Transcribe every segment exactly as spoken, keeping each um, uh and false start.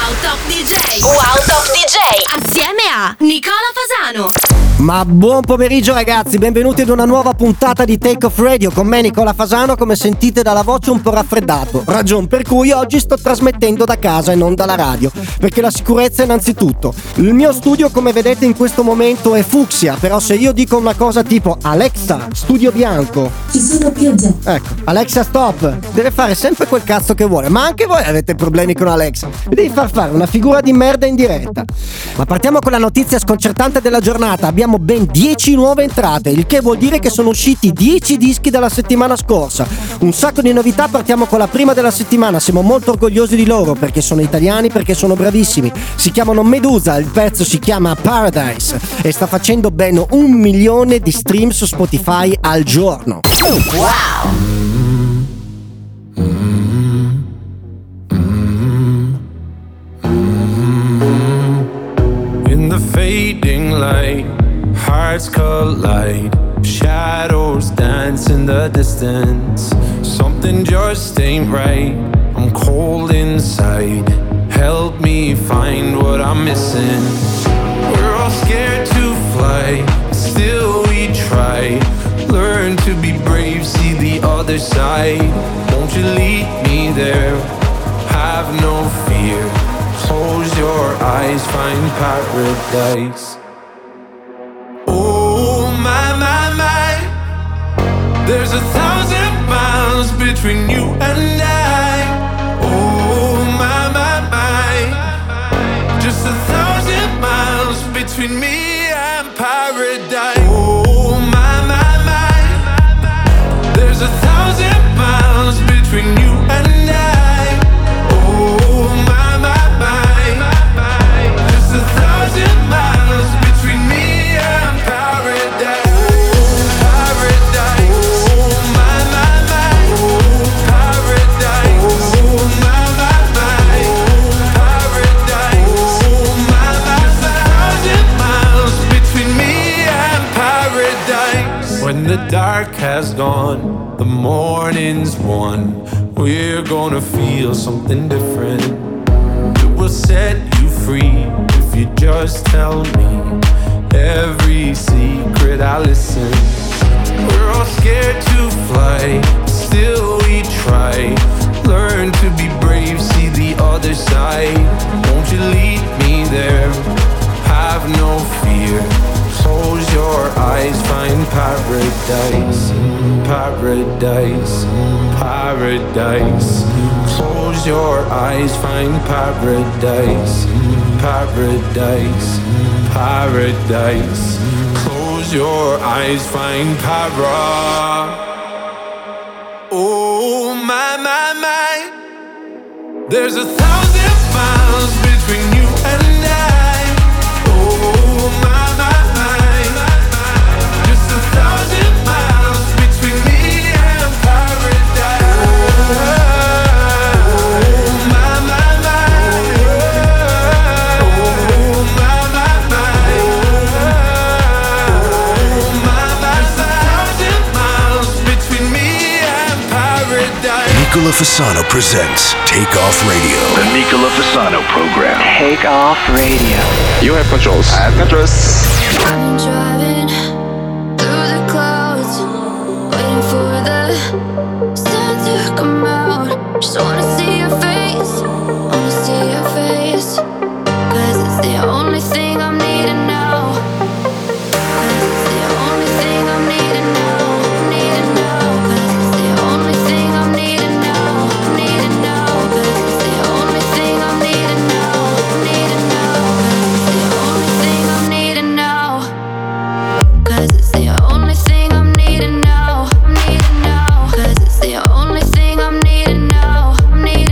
Top D J. Wow Top D J. Assieme a Nicola Fasano. Ma buon pomeriggio ragazzi, benvenuti ad una nuova puntata di Take Off Radio con me Nicola Fasano, come sentite dalla voce un po' raffreddato, ragion per cui oggi sto trasmettendo da casa e non dalla radio, perché la sicurezza è innanzitutto. Il mio studio, come vedete in questo momento, è fucsia, però se io dico una cosa tipo Alexa, studio bianco, ci sono piogge. Ecco, Alexa stop, deve fare sempre quel cazzo che vuole, ma anche voi avete problemi con Alexa, mi devi far fare una figura di merda in diretta. Ma partiamo con la notizia sconcertante della giornata. Abbiamo ben dieci nuove entrate, il che vuol dire che sono usciti dieci dischi dalla settimana scorsa. Un sacco di novità, partiamo con la prima della settimana. Siamo molto orgogliosi di loro perché sono italiani, perché sono bravissimi. Si chiamano Medusa, il pezzo si chiama Paradise e sta facendo ben un milione di stream su Spotify al giorno. Wow! In the fading light, hearts collide, shadows dance in the distance. Something just ain't right, I'm cold inside. Help me find what I'm missing. We're all scared to fly, still we try. Learn to be brave, see the other side. Won't you lead me there? Have no fear. Close your eyes, find paradise. Oh my, my, my. There's a thousand miles between you and I. Oh my, my, my. Just a thousand miles between me and paradise. Oh my, my, my. There's a thousand miles between you and I. Oh my, my, my. Just a thousand miles between me and paradise. Paradise. Oh my, my, my. Paradise. Oh my, my, my. Paradise. Oh my, my, my. Thousand miles between me and paradise. When the dark has gone, the morning's won. We're gonna feel something different. It will set you free if you just tell me every secret I listen. We're all scared to fly, still we try. Learn to be brave, see the other side. Won't you lead me there? Have no fear. Close your eyes, find paradise. Paradise, paradise. Close your eyes, find paradise. Paradise, paradise. Close your eyes, find para. Oh my, my, my. There's a thousand miles between you and I. Oh my, my, my. Just a thousand miles between me and paradise. Oh my, my, my. Oh my, my, my. Oh my, my, my. Thousand miles between me and paradise. Nicola Fasano presents Take Off Radio. The Nicola Fasano program. Take Off Radio. You have controls. I have controls. I'm driving through the clouds, waiting for the sun to come out. Just wanna see your face, wanna see your face. Cause it's the only thing I'm needing now. Cause it's the only thing I'm needing now. Needing now. Cause it's the only thing I'm needing now. Needing now. Cause it's the only thing I'm needing now. Needing now. Cause it's the only thing I'm needing now. Cause it's the only thing I'm needing now. I'm needing now. Cause it's the only thing I'm needing now. I'm needing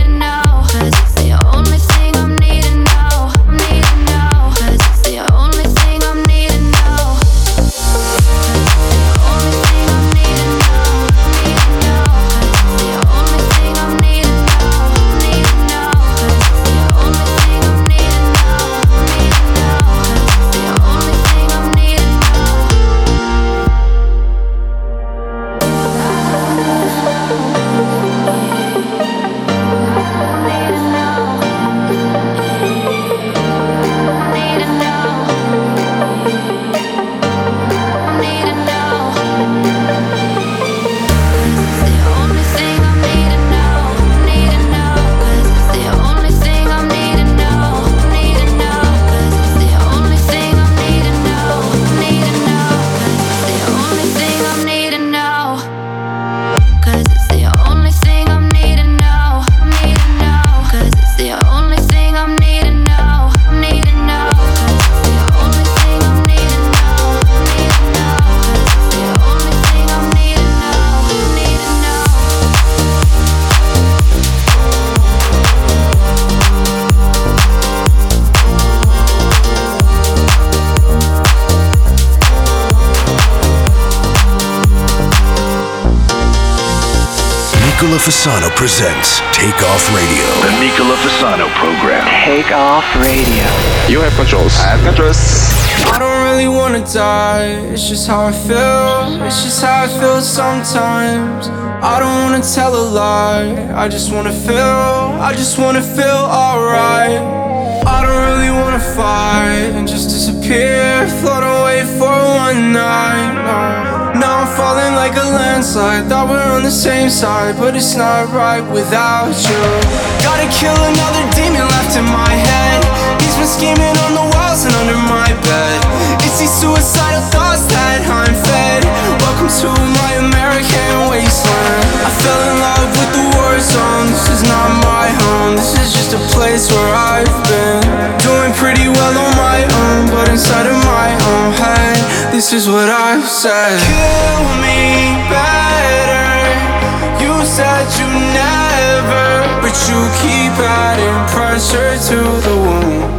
Nicola Fasano presents Take Off Radio. The Nicola Fasano program. Take Off Radio. You have controls. I have controls. I don't really wanna die, it's just how I feel. It's just how I feel sometimes. I don't wanna tell a lie, I just wanna feel, I just wanna feel alright. I don't really wanna fight and just disappear, float away for one night. No. Now I'm falling like a landslide, thought we're on the same side, but it's not right without you. Gotta kill another demon left in my head. He's been scheming on the walls and under my bed. It's these suicidal thoughts that I'm fed. Welcome to my American wasteland. I fell in love with the war zone. This is not my home, this is just a place where I've been. Doing pretty well on my own, but inside of my own head, this is what I've said. Kill me better. You said you never, but you keep adding pressure to the wound.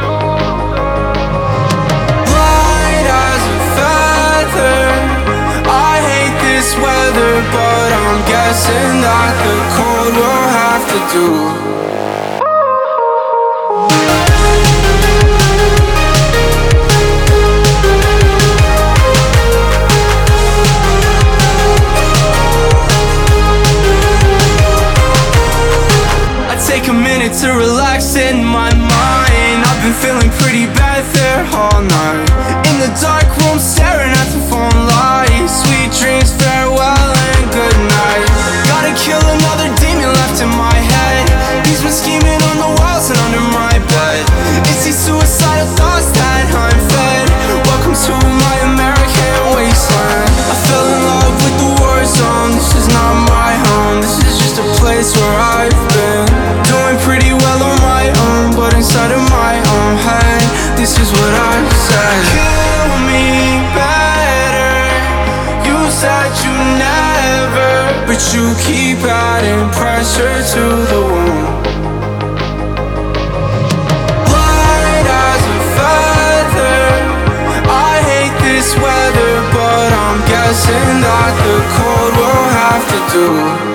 Light as a feather. I hate this weather, but I'm guessing that the cold will have to do. Take a minute to relax in my mind. I've been feeling pretty bad there all night. In the dark room staring at the phone lights. Sweet dreams, farewell and good night. Gotta kill another demon left in my head. He's been scheming on the walls and under my bed. It's these suicidal thoughts that I'm fed. Welcome to my American wasteland. I fell in love with the war zone. This is not my home, this is just a place where I've been. Doing pretty well on my own, but inside of my own head, this is what I said. Kill me better. You said you never, but you keep adding pressure to the wound. Light as a feather. I hate this weather, but I'm guessing that the cold will have to do.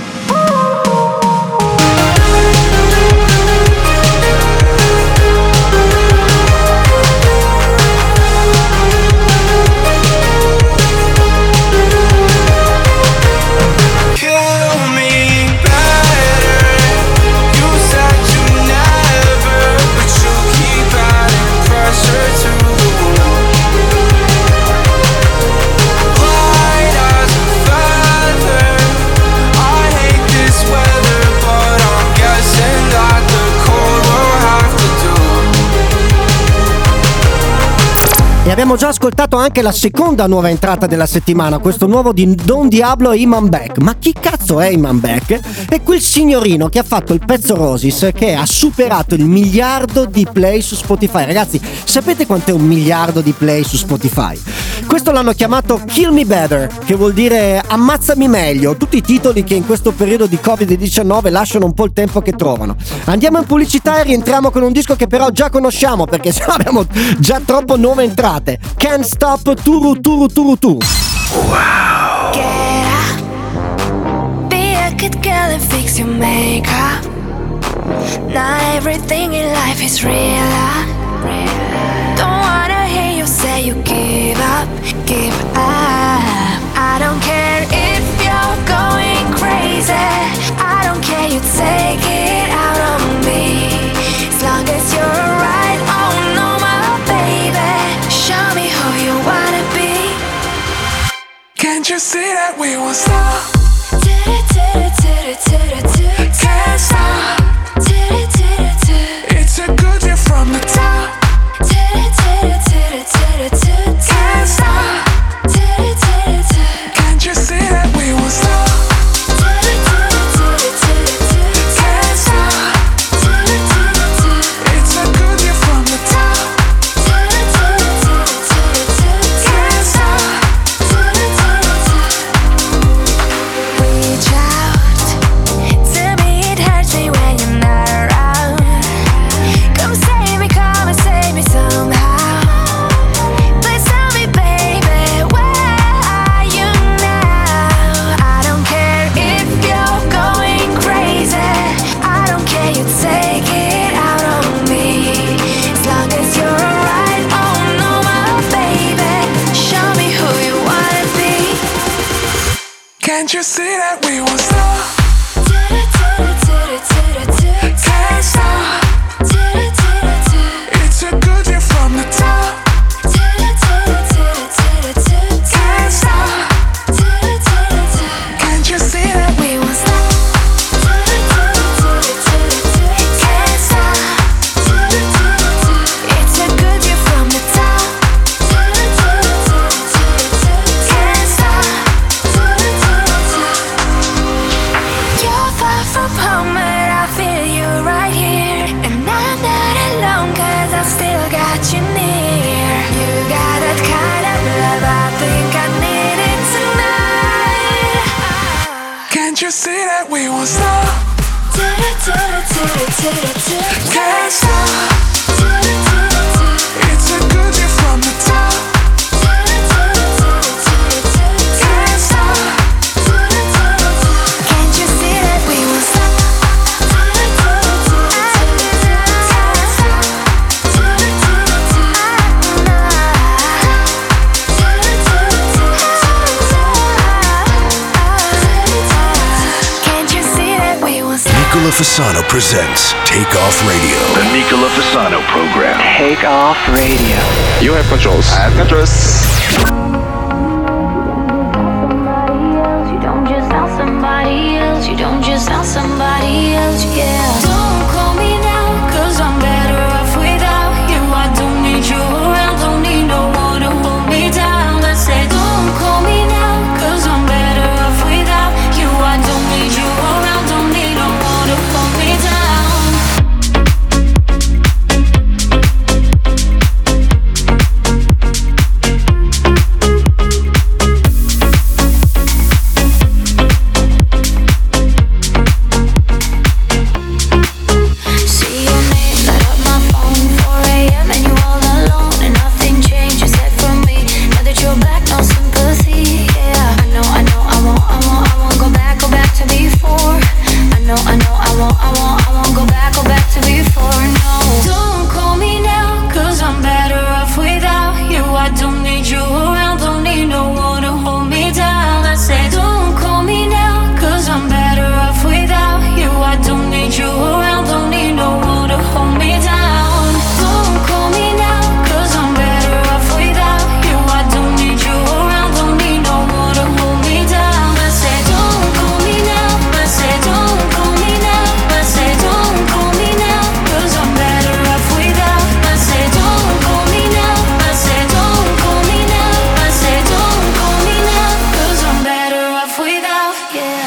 E abbiamo già ascoltato anche la seconda nuova entrata della settimana, questo nuovo di Don Diablo e Iman Beck. Ma chi cazzo è Iman Beck? È quel signorino che ha fatto il pezzo Roses, che ha superato il miliardo di play su Spotify. Ragazzi, sapete quant'è un miliardo di play su Spotify? Questo l'hanno chiamato Kill Me Better, che vuol dire ammazzami meglio, tutti i titoli che in questo periodo di covid diciannove lasciano un po' il tempo che trovano. Andiamo in pubblicità e rientriamo con un disco che però già conosciamo, perché sennò abbiamo già troppo nuove entrate. Can't Stop Turu Turu Turu Tu. Wow. Get up, be a good girl and fix your makeup. Not everything in life is real. Don't wanna hear you say you give up, give up. I don't care if you're going crazy. I don't care, you take it out on me. As long as you're right, oh no my baby. Show me who you wanna be. Can't you see that we won't stop? Can't stop. It's a good year from the top. Can't stop. Can't you see that we won't stop? Can't stop. It's a good year from the top. Can't stop. Reach out, Can't you see that we won't stop? Can't stop. It's a good view from the top. Can't stop. Can't you see that we won't stop? Can't stop. It's a good view from the top. Can't stop. You're far from home, but I feel you right here. And I'm not alone, cause I've still got you near. You got that kind of love, I think I need it tonight. Can't you see that we won't stop? Can't stop. It's a good view from the top. Can't stop. Can't you see that we won't stop? Can't you see that we won't stop? Nicola Fasano presents Take Off Radio. The Nicola Fasano program. Take Off Radio. You have controls. I have controls. You don't just sound somebody else. You don't just sound somebody else, yeah. Don't call me now, cause I'm better off without you. I don't need you around, don't need no one to hold me down. I said don't call me now, cause I'm better off without you. I don't need you around, don't need no one to hold me down. See your name light up my phone, four a.m. and you all alone, and nothing changed except for me. Now that you're back, no sympathy. Yeah, I know, I know, I won't, I won't, I won't go back, go back to before. I know, I know, I won't, I won't, I won't go back, go back to before. No, don't call me now, cause I'm better off without you. I don't need you around, don't need no one to hold me down. I said don't call me now, cause I'm better off without you. I don't need you around, don't need no one to hold me down. Don't call me now, cause I'm better off without you. I don't need you around, don't need no one to hold me down. I said don't call me now, I said don't call me now, I said don't call me now, cause I'm better off without. I said don't call me now, I said don't call me now, I said don't call me now, cause I'm better off without, yeah.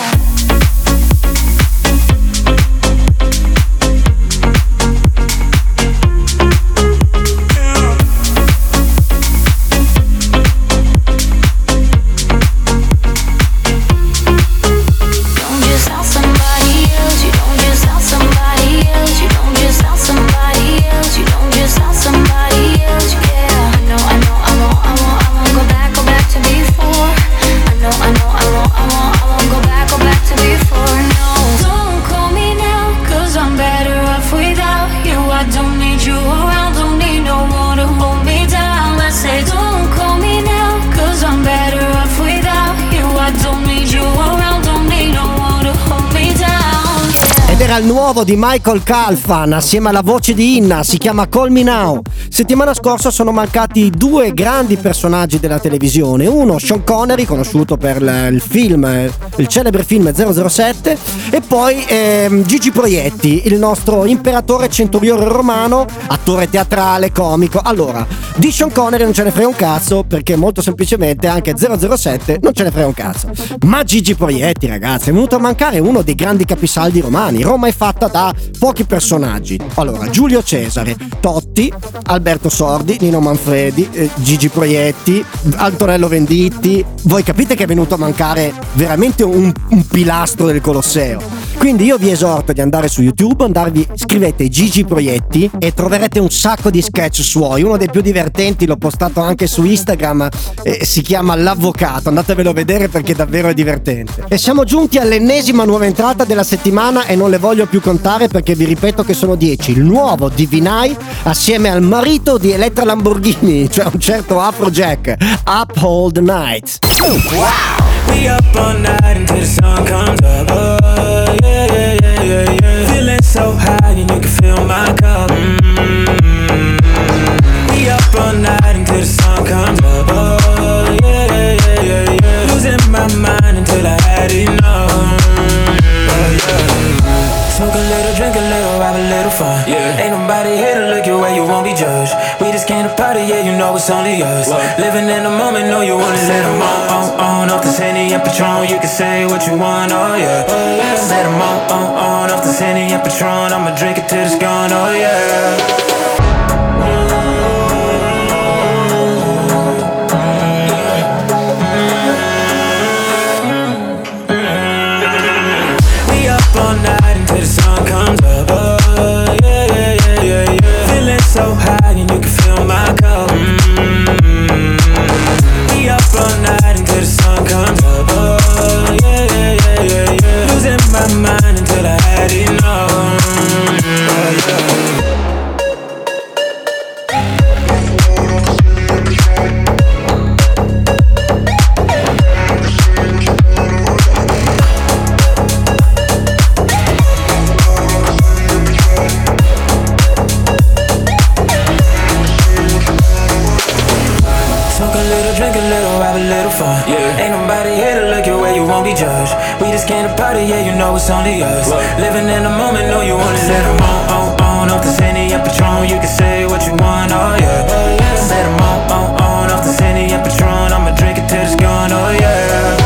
Don't just sound somebody else. You don't just sound somebody else. You don't just sound somebody else. You don't just sound somebody else. Yeah, I know, I know, I won't, I won't, I won't go back, go back to before. I know, I know, I won't, I won't, I won't go back, go back to before. No, don't call me now, cause I'm better off without you. I don't need you around, don't need no one to hold me down. I say don't call me now, cause I'm better off without you. I don't need you around, don't need no one to hold me down. Ed era il nuovo di Michael Calfan assieme alla voce di Inna, si chiama Call Me Now. Settimana scorsa sono mancati due grandi personaggi della televisione, uno Sean Connery, conosciuto per l- il film, il celebre film zero zero sette, e poi ehm, Gigi Proietti, il nostro imperatore centurione romano, attore teatrale, comico. Allora, di Sean Connery non ce ne frega un cazzo, perché molto semplicemente anche zero zero sette non ce ne frega un cazzo. Ma Gigi Proietti, ragazzi, è venuto a mancare uno dei grandi capisaldi romani. Roma è fatta da pochi personaggi. Allora, Giulio Cesare, Totti, Alberto Sordi, Nino Manfredi, eh, Gigi Proietti, Antonello Venditti. Voi capite che è venuto a mancare veramente un, un pilastro del Colosseo. Quindi io vi esorto di andare su YouTube, andarvi, scrivete Gigi Proietti e troverete un sacco di sketch suoi. Uno dei più divertenti, l'ho postato anche su Instagram, eh, si chiama L'Avvocato, andatevelo a vedere perché davvero è divertente. E siamo giunti all'ennesima nuova entrata della settimana e non le voglio più contare perché vi ripeto che sono dieci. Il nuovo Divinai assieme al marito di Elettra Lamborghini, cioè un certo Afrojack, Up All The Night. Wow! We up all night until the sun comes up. Oh, yeah, yeah, yeah, yeah, yeah. Feeling so high and you can feel my cup. Mm-hmm. We up all night until the sun comes up. Oh, yeah, yeah, yeah, yeah. Losing my mind until I had enough. Oh, yeah. Smoke a little, drink a little, have a little fun. Yeah. Ain't nobody here to look your way, you won't be judged. We just came to party, yeah, you know it's only us. What? Living in the moment, know you wanna let them on, on, on. Off the Henny and Patron, you can say what you want, oh yeah, oh, yeah. Let them on, on, on. Off the Henny and Patron, I'ma drink it till it's gone, oh yeah. All night until the sun comes up. Oh, yeah, yeah, yeah, yeah, yeah. Feeling so high and you can feel my cup. Mm-hmm. We up all night until the sun comes up. Oh, yeah, yeah, yeah, yeah, yeah. Losing my mind until I had enough. Oh, yeah. Yeah. Ain't nobody here to look your way, you won't be judged. We just came to party, yeah, you know it's only us. What? Living in the moment, know you wanna let them on, on, on. Off the Henny and Patron, you can say what you want, oh yeah, oh, yeah. Let them on, on, on. Off the Henny and Patron, I'ma drink it till it's gone, oh yeah.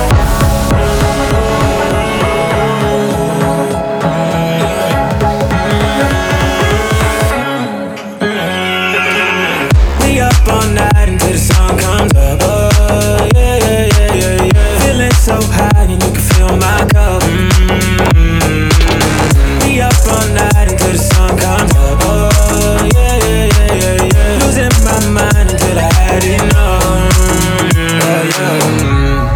We up all night until the sun comes up, oh yeah, yeah, yeah, yeah, yeah. Feeling so high and you can feel my cup. Mm-hmm. We up all night until the sun comes up, oh yeah, yeah, yeah, yeah, yeah. Losing my mind until I had enough. Oh, yeah.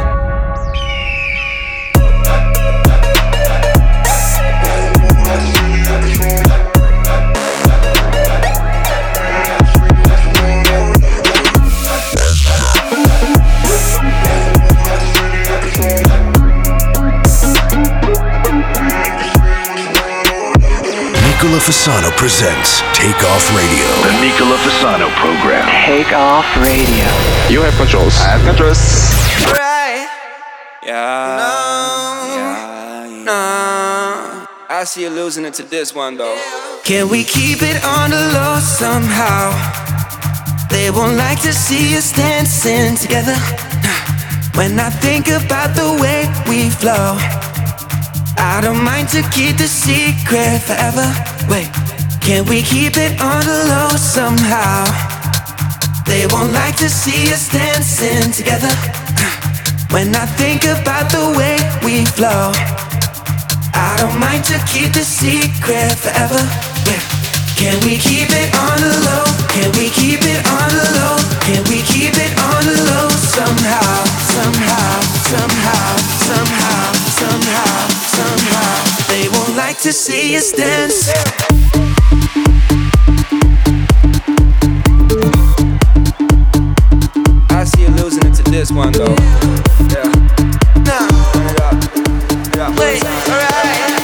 Nicola Fasano presents Take Off Radio. The Nicola Fasano program. Take Off Radio. You have controls. I have controls. Right. Yeah. No. Yeah. No. I see you losing it to this one though. Can we keep it on the low somehow? They won't like to see us dancing together. When I think about the way we flow, I don't mind to keep the secret forever. Wait, can we keep it on the low somehow? They won't like to see us dancing together. When I think about the way we flow, I don't mind to keep the secret forever. Yeah. Can we keep it on the low? Can we keep it on the low? Can we keep it on the low somehow? Somehow, somehow, somehow, somehow, somehow. They won't like to see us dance. I see you losing it to this one though. Yeah. Nah. Yeah. Yeah. Wait. Alright.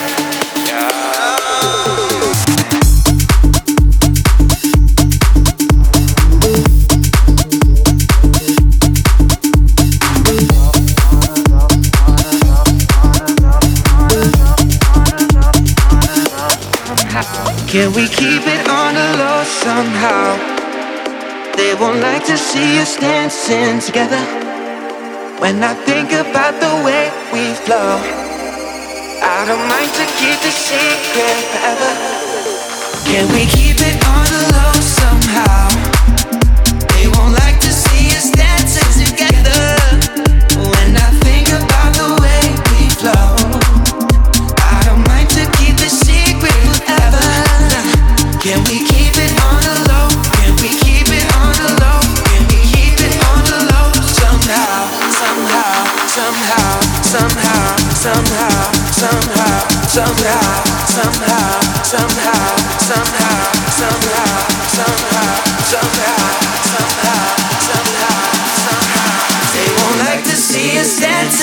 Can we keep it on the low somehow? They won't like to see us dancing together. When I think about the way we flow, I don't mind to keep the secret forever. Can we keep it on the low somehow? They won't like to see us dancing together. When I think about the way we flow, I don't mind to keep the secret forever. Can we keep it on the low? Can we keep it on the low? Can we keep it on the low somehow? Somehow, somehow, somehow, somehow, somehow, somehow, somehow, somehow, somehow, somehow, somehow, somehow, somehow, somehow, somehow. They won't like to see us dance.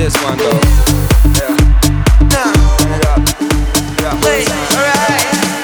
this one though. Yeah. Nah. Yeah. Yeah. Wait. Alright.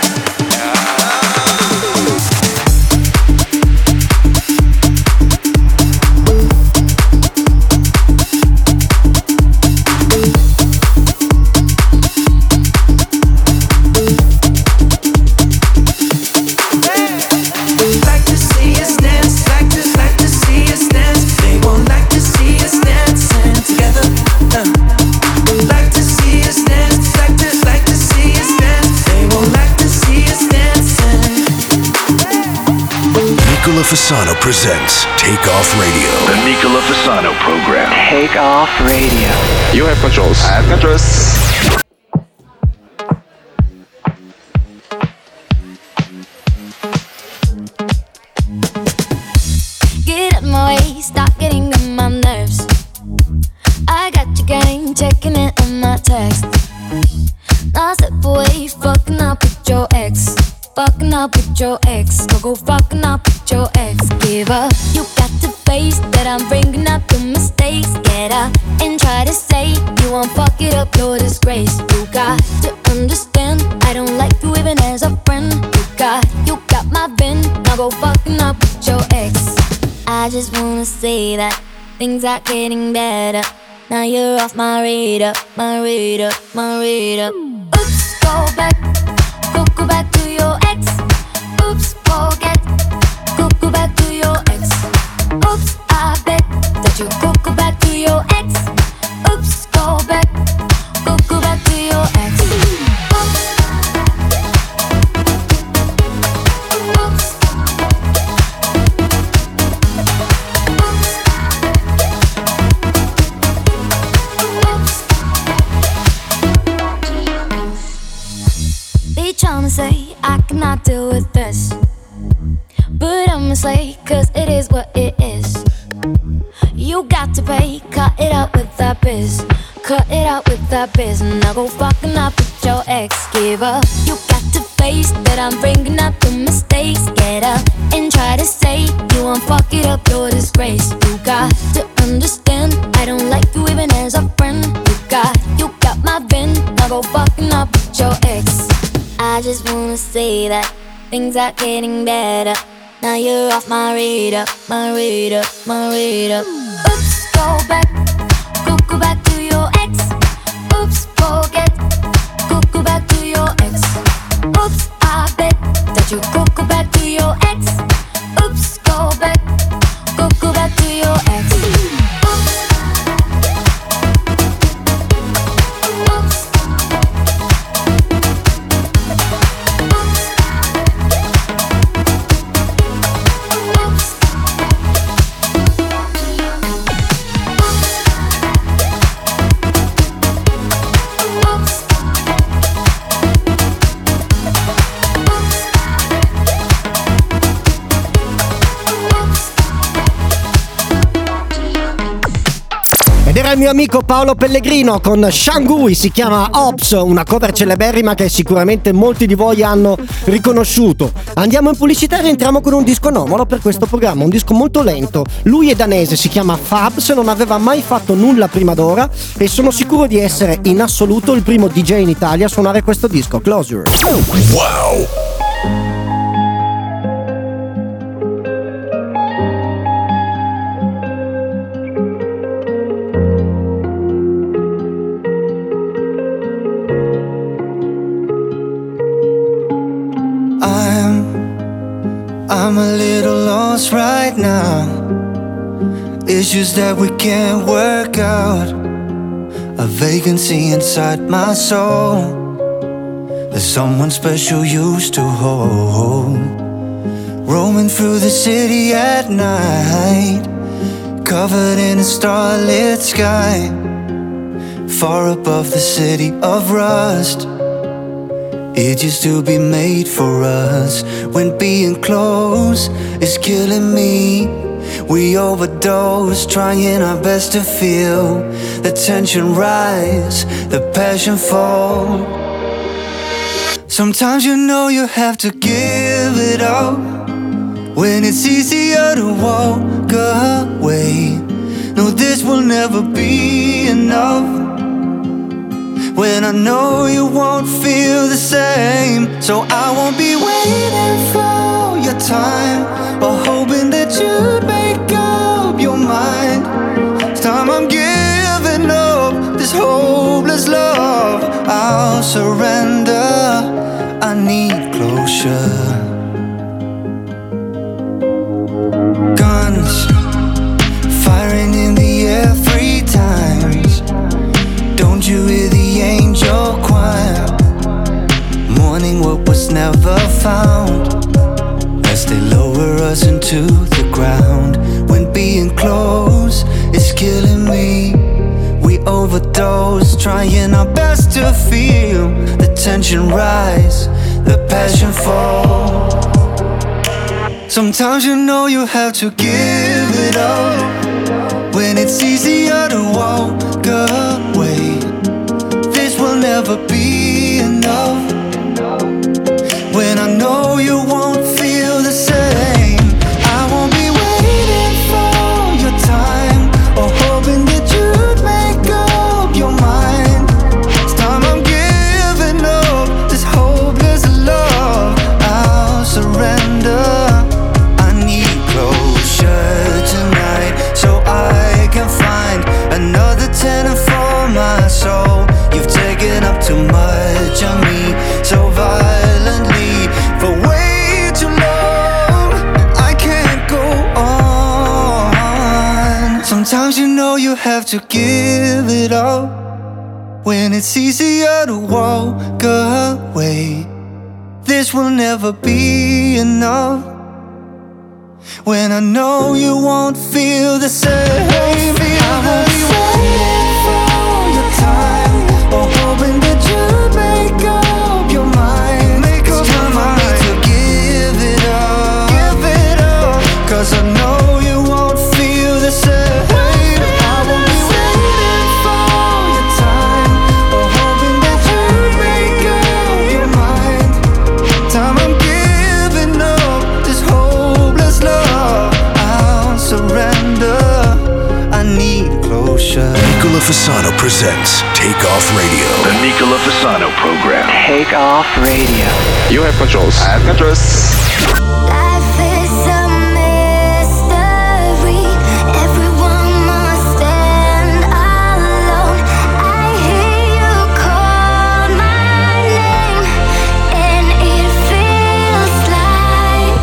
Fasano presents Take Off Radio. The Nicola Fasano program. Take Off Radio. You have controls. I have controls. Get out my way, stop getting on my nerves. I got your game, checking it on my text. Now step away, fucking up with your ex. Fucking up with your ex, go go fucking up with your ex. Give up, you got to face that I'm bringing up the mistakes. Get up and try to say you won't fuck it up, your disgrace. You got to understand, I don't like you even as a friend. You got, you got my bin, now go fucking up with your ex. I just wanna say that things are getting better. Now you're off my radar, my radar, my radar. Oops, go back, go go back to your ex. Oops, forget, go go back to your ex. Oops, I bet that you go go back to your ex. Oops, go back, go go back to your ex. Oops, oops, oops. They tryna say I cannot deal with this, but I'ma slay, cause it is what it is. You got to pay, cut it out with that biz. Cut it out with that biz. Now go fucking up with your ex. Give up, you got to face that I'm bringing up the mistakes. Get up and try to say you won't fuck it up, your disgrace. You got to understand, I don't like you even as a friend. You got, you got my bin. Now go fucking up with your ex. I just wanna say that things are getting better. Now you're off my radar, my radar, my radar. Oops, go back, go go back to your ex. Oops, forget, go go back to your ex. Oops, I bet that you go go back to your ex. Oops, go back, go go back to your ex. Oops, oops. Ed era il mio amico Paolo Pellegrino con Shangui, si chiama Ops, una cover celeberrima che sicuramente molti di voi hanno riconosciuto. Andiamo in pubblicità e rientriamo con un disco anomalo per questo programma, un disco molto lento. Lui è danese, si chiama Fabs, non aveva mai fatto nulla prima d'ora e sono sicuro di essere in assoluto il primo D J in Italia a suonare questo disco, Closure. Wow! I'm a little lost right now. Issues that we can't work out. A vacancy inside my soul that someone special used to hold. Roaming through the city at night, covered in a starlit sky, far above the city of rust. It used to be made for us. When being close is killing me, we overdose, trying our best to feel the tension rise, the passion fall. Sometimes you know you have to give it up when it's easier to walk away. No, this will never be enough. enough. When I know you won't feel the same, so I won't be waiting for your time or hoping that you'd make up your mind. It's time I'm giving up this hopeless love. I'll surrender, I need closure. Guns firing in the air three times. Don't you hear the angel choir mourning what was never found, as they lower us into the ground. When being close is killing me, we overdose, trying our best to feel the tension rise, the passion fall. Sometimes you know you have to give it up when it's easier to walk away. This will never be enough. When I know you won't feel the same, I won't be waiting for your time or hoping that you'd make up your mind. It's time I'm giving up this hopeless love. I'll surrender, I need closure tonight, so I can find another tenant for my soul. You've taken up too much of me so violently for way too long. I can't go on. Sometimes you know you have to give it up when it's easier to walk away. This will never be enough. When I know you won't feel the same, I won't be waiting for your time or hoping that you'd make up your mind. Make up your mind to give it up, give it up, 'cause I know you won't feel the same. I won't be waiting for your time or hoping that you'd make up your mind. Time I'm giving up this hopeless love. I'll surrender, I need closure. Nicola Fasano presents Take Off Radio. The Nicola Fasano program. Take Off Radio. You have controls. I have controls. Life is a mystery. Everyone must stand alone. I hear you call my name, and it feels like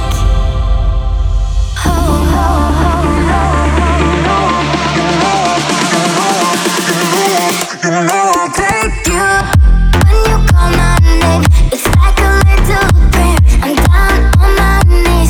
home. I'll take you. When you call my name, it's like a little prayer. I'm down on my knees.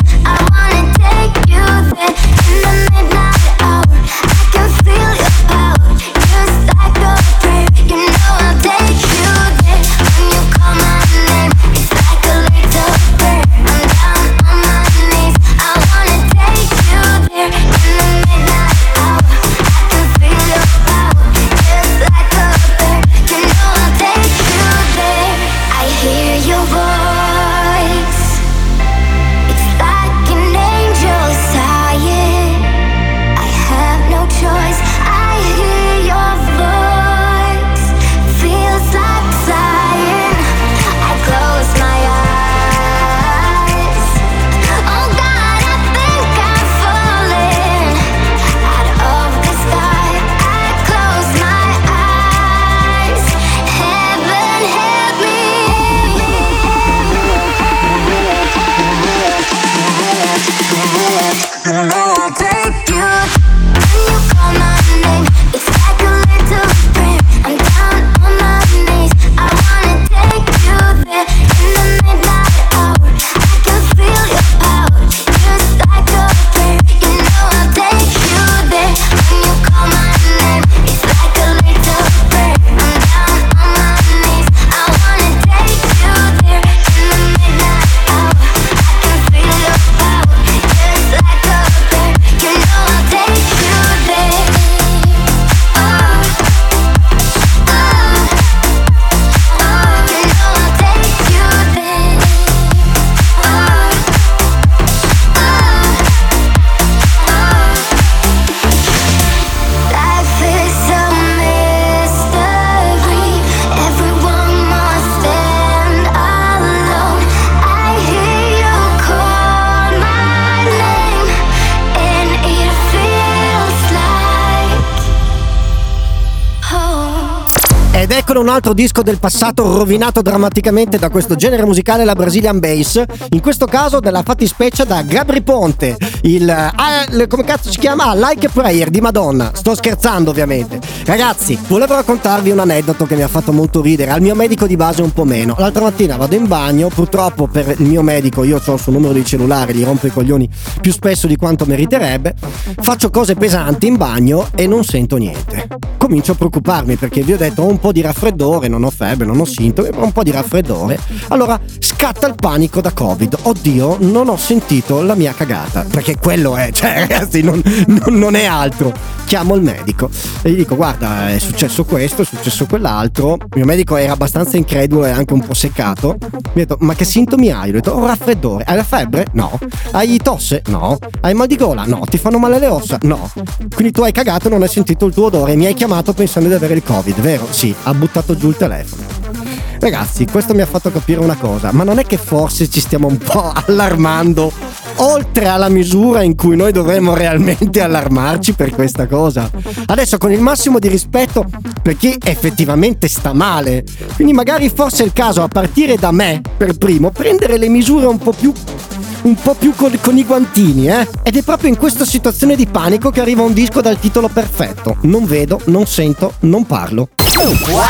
Ed eccolo un altro disco del passato rovinato drammaticamente da questo genere musicale, la Brazilian Bass, in questo caso della fattispecie da Gabri Ponte, il, ah, il come cazzo si chiama? Ah, Like a Prayer di Madonna. Sto scherzando ovviamente. Ragazzi, volevo raccontarvi un aneddoto che mi ha fatto molto ridere, al mio medico di base un po' meno. L'altra mattina vado in bagno, purtroppo per il mio medico io ho il suo numero di cellulare, gli rompo i coglioni più spesso di quanto meriterebbe, faccio cose pesanti in bagno e non sento niente. Comincio a preoccuparmi perché vi ho detto ho un po' di raffreddore, non ho febbre, non ho sintomi, ma un po' di raffreddore. Allora scatta il panico da Covid. Oddio, non ho sentito la mia cagata, perché quello è, cioè ragazzi, non, non, non è altro. Chiamo il medico e gli dico guarda, è successo questo, è successo quell'altro. Il mio medico era abbastanza incredulo e anche un po' seccato. Mi ha detto ma che sintomi hai? Io ho detto ho raffreddore. Hai la febbre? No. Hai tosse? No. Hai mal di gola? No. Ti fanno male le ossa? No. Quindi tu hai cagato e non hai sentito il tuo odore e mi hai chiamato pensando di avere il Covid, vero? Sì, ha buttato giù il telefono. Ragazzi, questo mi ha fatto capire una cosa, ma non è che forse ci stiamo un po' allarmando oltre alla misura in cui noi dovremmo realmente allarmarci per questa cosa? Adesso, con il massimo di rispetto per chi effettivamente sta male, quindi magari forse è il caso, a partire da me per primo, prendere le misure un po' più un po' più con, con i guantini, eh? Ed è proprio in questa situazione di panico che arriva un disco dal titolo perfetto: non vedo, non sento, non parlo. Wow!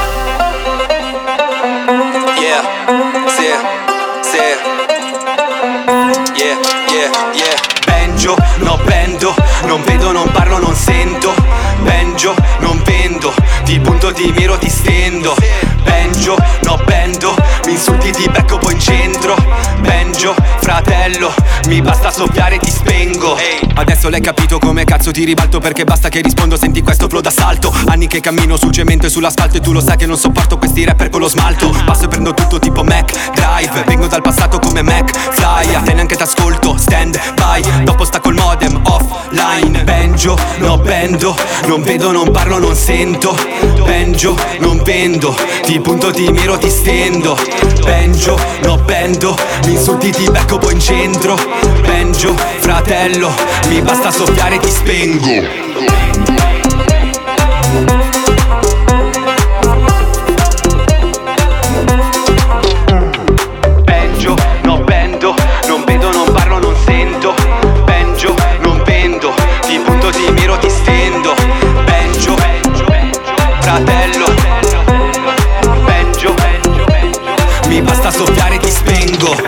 Yeah, sì, sì. Yeah, yeah, yeah. Benjo, no bendo, non vedo, non parlo, non sento. Benjo, non vendo, ti punto, ti miro, ti stendo. Benjo, no bendo, mi insulti, ti becco poi in centro. Benjo, fratello, mi basta soffiare, ti spengo. Adesso l'hai capito come cazzo ti ribalto, perché basta che rispondo, senti questo flow d'assalto. Anni che cammino sul cemento e sull'asfalto e tu lo sai che non sopporto questi rapper con lo smalto. Passo e prendo tutto tipo Mac Drive, vengo dal passato come Mac Fly. A te neanche t'ascolto, stand by, dopo stacco il modem offline. Benjo, no bendo, non vedo, non parlo, non sento. Benjo, non vendo, ti punto, ti miro, ti stendo. Benjo, no bendo, mi insulti, ti becco poi in centro. Benjo, fratello, mi basta soffiare, ti spengo. Benjo, no bendo, non vedo, non parlo, non sento. Benjo, non vendo, ti punto, ti miro, ti stendo. Benjo, fratello, Benjo, mi basta soffiare, ti spengo.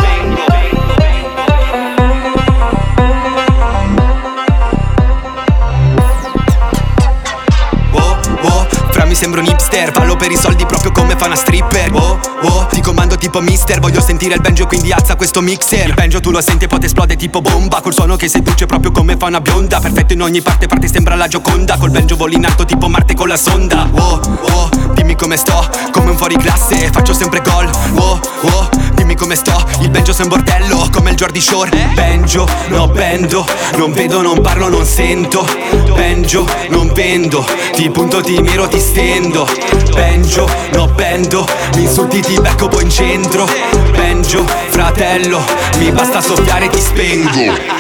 Mi sembro un hipster, fallo per i soldi proprio come fa una stripper. Oh, oh, ti comando tipo mister, voglio sentire il banjo quindi alza questo mixer. Il banjo tu lo senti e poi ti esplode tipo bomba, col suono che seduce proprio come fa una bionda. Perfetto in ogni parte, parte sembra la Gioconda, col banjo volo in alto tipo Marte con la sonda. Oh, oh, dimmi come sto, come un fuoriclasse, faccio sempre gol. Oh, oh, dimmi come sto, il banjo sei un bordello, come il Jordi Shore. Banjo, no bendo, non vedo, non parlo, non sento. Banjo, non vendo, ti punto, ti miro, ti stendo. Benjo, no bendo, mi insulti, ti becco poi in centro. Benjo, fratello, mi basta soffiare, ti spengo.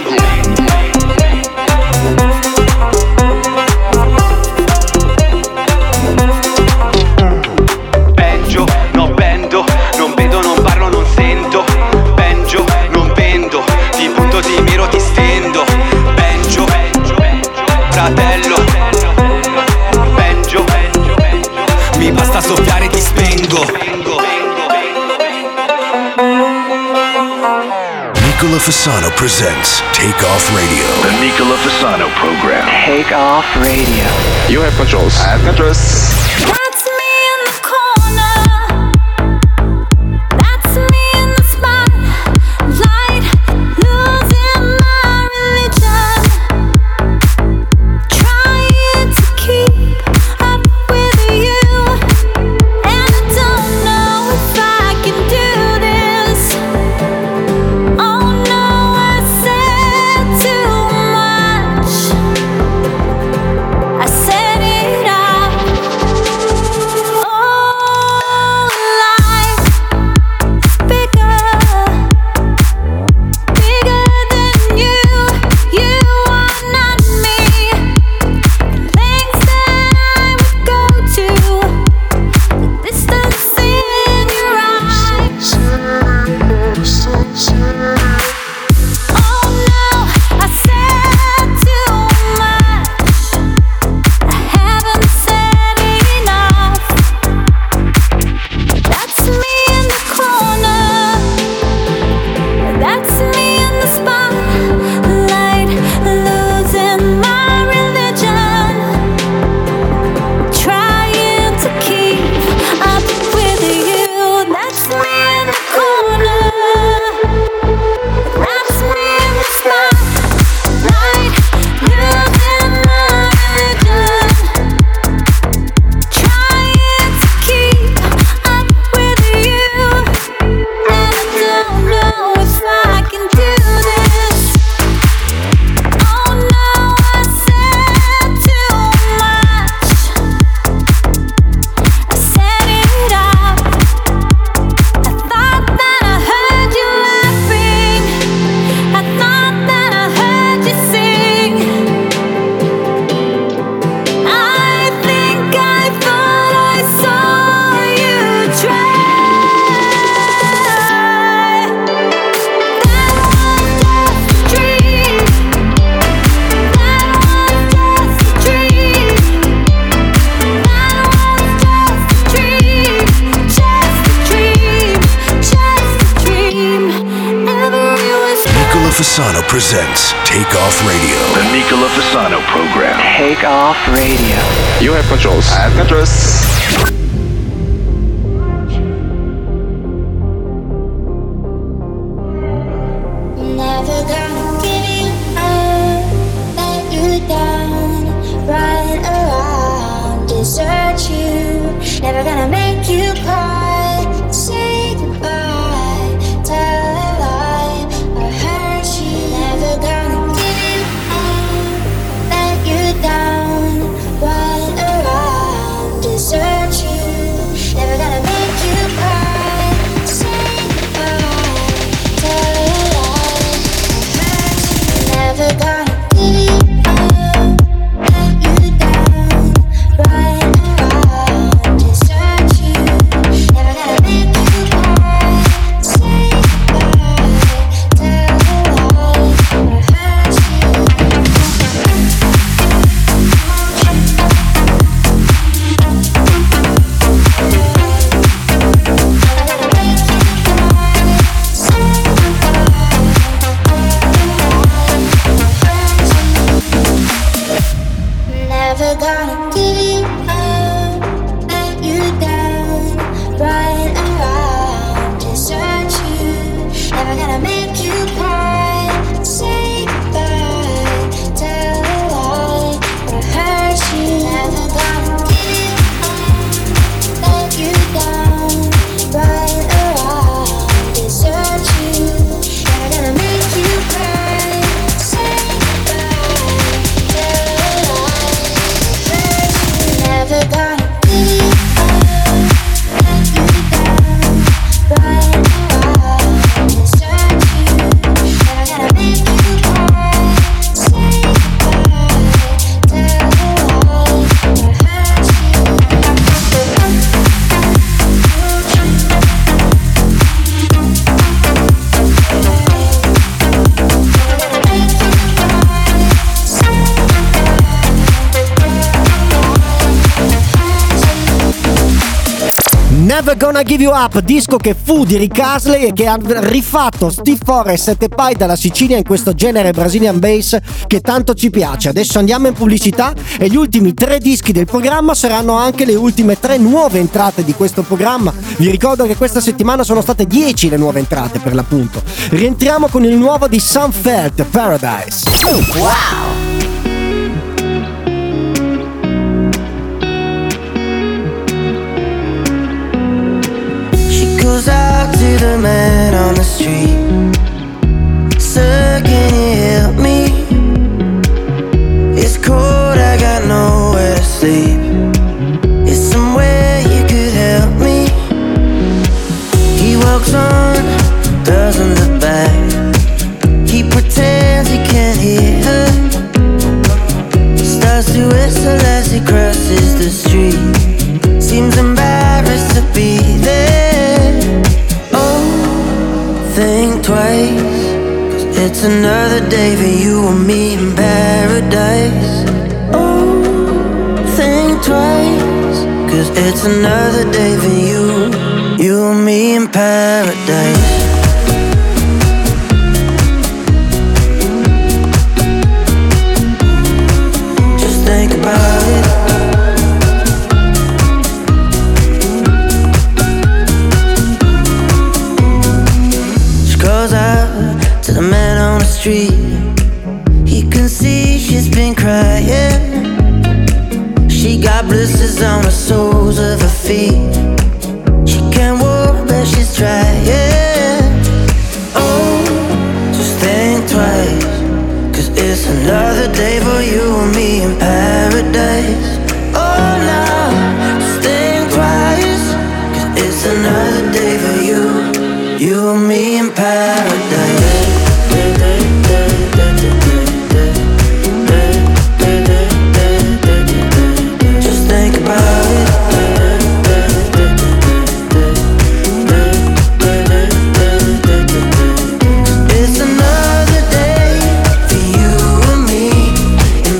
Benjo, no bendo, non vedo, non parlo, non sento. Benjo, non vendo, ti punto, ti miro, ti stendo. Benjo, fratello, Benjo, mi basta soffiare, ti spengo. Nicola Fasano presents Take Off Radio. The Nicola Fasano program. Take Off Radio. You have controls. I have controls. That's me in the corner. That's me in the spotlight, losing my religion, trying to keep up with you, and I don't know if I can do this. Oh no, I said too much. I said it out. Fasano presents Take Off Radio. The Nicola Fasano program. Take Off Radio. You have controls. I have controls. Never gonna give you up, let you down, run around, desert you. Never gonna make you cry, say goodbye, tell a lie, or hurt you. Never gonna give you up, let you down, run around, desert you. Never gonna make you cry, say goodbye, tell a lie. Never gonna give you up, let you down, run around, desert you. Never gonna make you cry, say goodbye, tell a lie, or hurt you. Never gonna give you up, let you down, run around, desert you. Never gonna make you cry, say goodbye, tell a lie, or hurt you. Never gonna give you up, let you down, run around, desert you. Never gonna make you cry, say goodbye, tell a lie. Never gonna give you up, let you down, run around, desert you. Never gonna make you cry, say goodbye, tell a lie, or hurt you. Never Gonna Give You Up, disco che fu di Rick Astley e che ha rifatto Steve Forrest e Tepai dalla Sicilia in questo genere Brazilian bass che tanto ci piace. Adesso andiamo in pubblicità e gli ultimi tre dischi del programma saranno anche le ultime tre nuove entrate di questo programma. Vi ricordo che questa settimana sono state dieci le nuove entrate per l'appunto. Rientriamo con il nuovo di Sam Felt, Paradise. Wow! Goes out to the man on the street. Sir, can you help me? It's cold, I got nowhere to sleep. Is somewhere you could help me? He walks on, doesn't look back. He pretends he can't hear her. Starts to whistle as he crosses the street. Seems embarrassed to be there. Think twice, 'cause it's another day for you and me in paradise. Oh, think twice, 'cause it's another day for you, you and me in paradise. Just think about it. Goes out to the man on the street. He can see she's been crying. She got blisters on the soles of her feet. She can't walk but she's trying. Oh, just think twice, 'cause it's another day for you and me in paradise. Oh no, just think twice, 'cause it's another day for you, you and me in paradise. Just think about it. It's another day for you and me in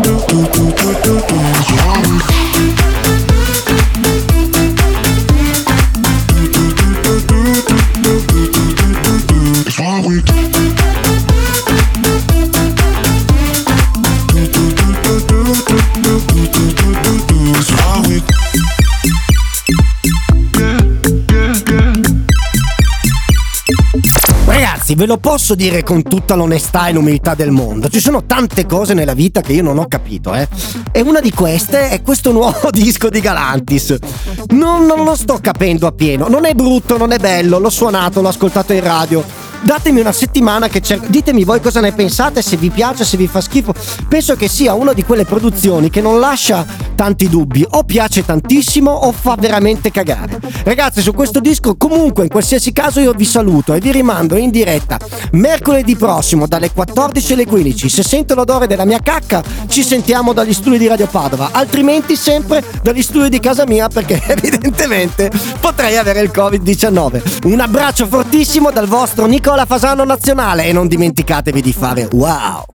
ve lo posso dire con tutta l'onestà e l'umiltà del mondo, ci sono tante cose nella vita che io non ho capito, eh. E una di queste è questo nuovo disco di Galantis. Non, non lo sto capendo appieno, non è brutto, non è bello, l'ho suonato, l'ho ascoltato in radio. Datemi una settimana che cerco. Ditemi voi cosa ne pensate, se vi piace, se vi fa schifo. Penso che sia una di quelle produzioni che non lascia tanti dubbi, o piace tantissimo o fa veramente cagare. Ragazzi, su questo disco comunque in qualsiasi caso io vi saluto e vi rimando in diretta mercoledì prossimo dalle quattordici alle quindici. Se sento l'odore della mia cacca ci sentiamo dagli studi di Radio Padova, altrimenti sempre dagli studi di casa mia, perché evidentemente potrei avere il covid diciannove. Un abbraccio fortissimo dal vostro Nicola Fasano nazionale e non dimenticatevi di fare wow.